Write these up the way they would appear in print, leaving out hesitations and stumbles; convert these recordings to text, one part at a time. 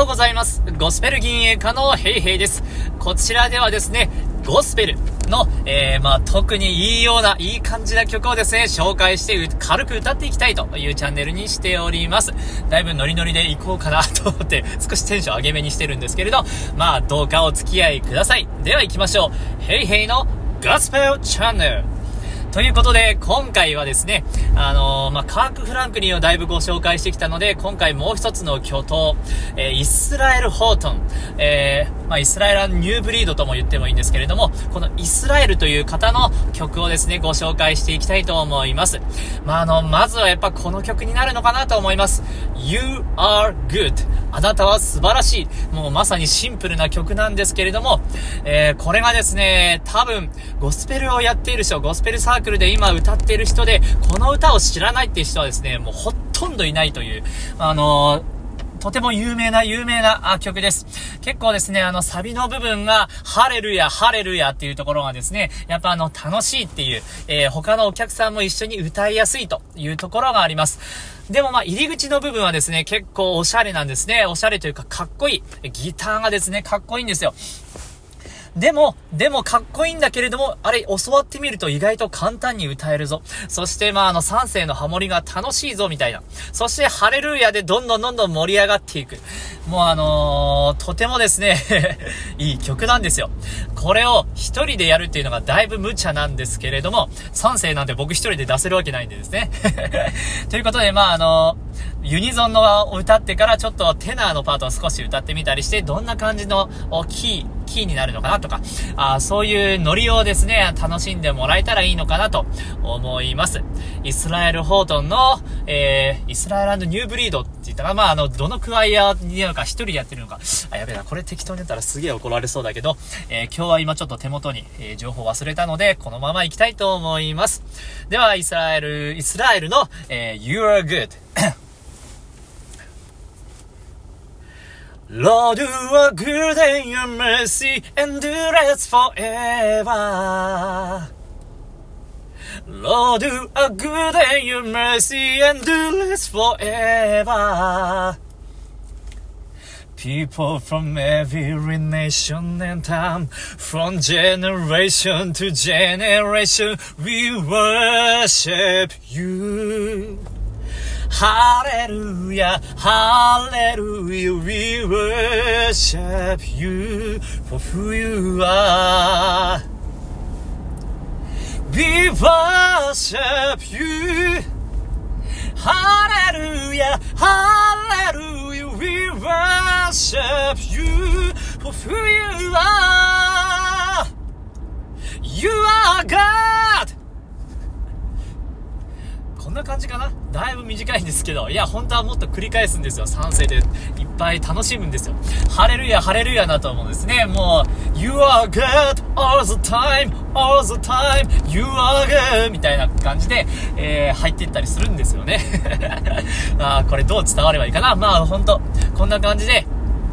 ようございます。ゴスペル銀営家のヘイヘイです。こちらではですね、ゴスペルの、特にいいような、いい感じな曲をですね、紹介して軽く歌っていきたいというチャンネルにしております。だいぶノリノリでいこうかなと思って、少しテンション上げめにしてるんですけれど、どうかお付き合いください。では行きましょう。ヘイヘイのゴスペルチャンネル。ということで、今回はですね、カーク・フランクリンをだいぶご紹介してきたので、今回もう一つの巨頭、イスラエル・ホートン、イスラエル・ニューブリードとも言ってもいいんですけれども、このイスラエルという方の曲をですね、ご紹介していきたいと思います。まずはやっぱこの曲になるのかなと思います。You are good。あなたは素晴らしい。もうまさにシンプルな曲なんですけれども、これがですね、多分、ゴスペルをやっている人、ゴスペルサークルで今歌っている人で、この歌を知らないっていう人はですね、もうほとんどいないという、とても有名な曲です。結構ですね、サビの部分が、ハレルヤ、ハレルヤっていうところがですね、やっぱ楽しいっていう、他のお客さんも一緒に歌いやすいというところがあります。でも入り口の部分はですね、結構おしゃれなんですね。おしゃれというかかっこいい。ギターがですね、かっこいいんですよ。でもかっこいいんだけれども、あれ教わってみると意外と簡単に歌えるぞ。そして三声のハモリが楽しいぞみたいな。そしてハレルヤでどんどん盛り上がっていく。もうとてもですねいい曲なんですよ。これを一人でやるっていうのがだいぶ無茶なんですけれども、三声なんて僕一人で出せるわけないんでですねということでユニゾンの歌ってからちょっとテナーのパートを少し歌ってみたりして、どんな感じのキーになるのかなとか、そういうノリをですね、楽しんでもらえたらいいのかなと思います。イスラエル・ホートンの、イスラエル&ニューブリードって言ったら、どのクワイアになるか一人でやってるのか。やべえな、これ適当にやったらすげえ怒られそうだけど、今日は今ちょっと手元に、情報忘れたので、このまま行きたいと思います。では、イスラエルの、You are good Lord, you are good and your mercy endures forever. Lord, you are good and your mercy endures forever. People from every nation and time, from generation to generation, we worship you.Hallelujah, hallelujah, we worship you for who you are. We worship you. Hallelujah, hallelujah, we worship you for who you are. You are God!こんな感じかな。だいぶ短いんですけど、いや本当はもっと繰り返すんですよ。3声でいっぱい楽しむんですよ。ハレルヤハレルヤだと思うんですね。もう You are good all the time all the time You are good みたいな感じで、入っていったりするんですよねこれどう伝わればいいかな。本当こんな感じで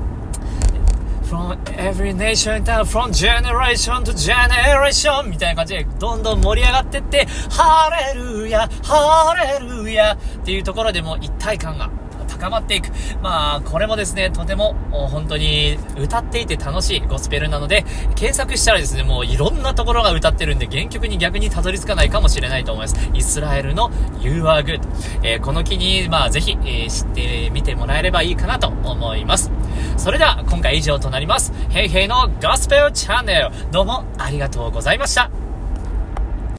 From every nation down, from generation to generation みたいな感じでどんどん盛り上がってってハレルヤハレルヤっていうところでも一体感が高まっていく。これもですね、とても本当に歌っていて楽しいゴスペルなので、検索したらですね、もういろんなところが歌ってるんで、原曲に逆にたどり着かないかもしれないと思います。イスラエルの You are good、この機にぜひ、知ってみてもらえればいいかなと思います。それでは今回以上となります。ヘイヘイのゴスペルチャンネル、どうもありがとうございました。